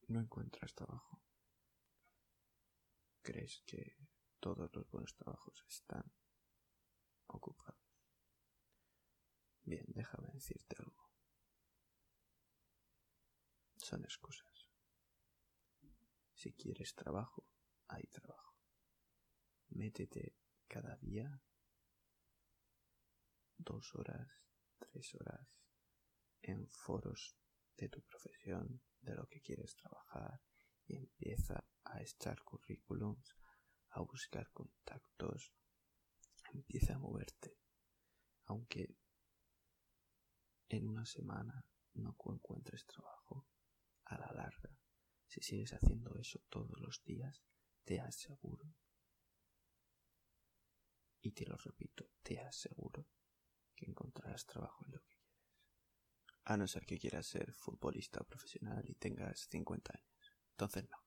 no encuentras trabajo. ¿Crees que todos los buenos trabajos están ocupados? Bien, déjame decirte algo. Son excusas. Si quieres trabajo, hay trabajo. Métete cada día 2 horas, 3 horas en foros de tu profesión, de lo que quieres trabajar, y empieza a echar currículums, a buscar contactos, empieza a moverte. Aunque en una semana no encuentres trabajo, a la larga, si sigues haciendo eso todos los días, te aseguro, y te lo repito, te aseguro que encontrarás trabajo en lo que quieres. A no ser que quieras ser futbolista profesional y tengas 50 años. Entonces no.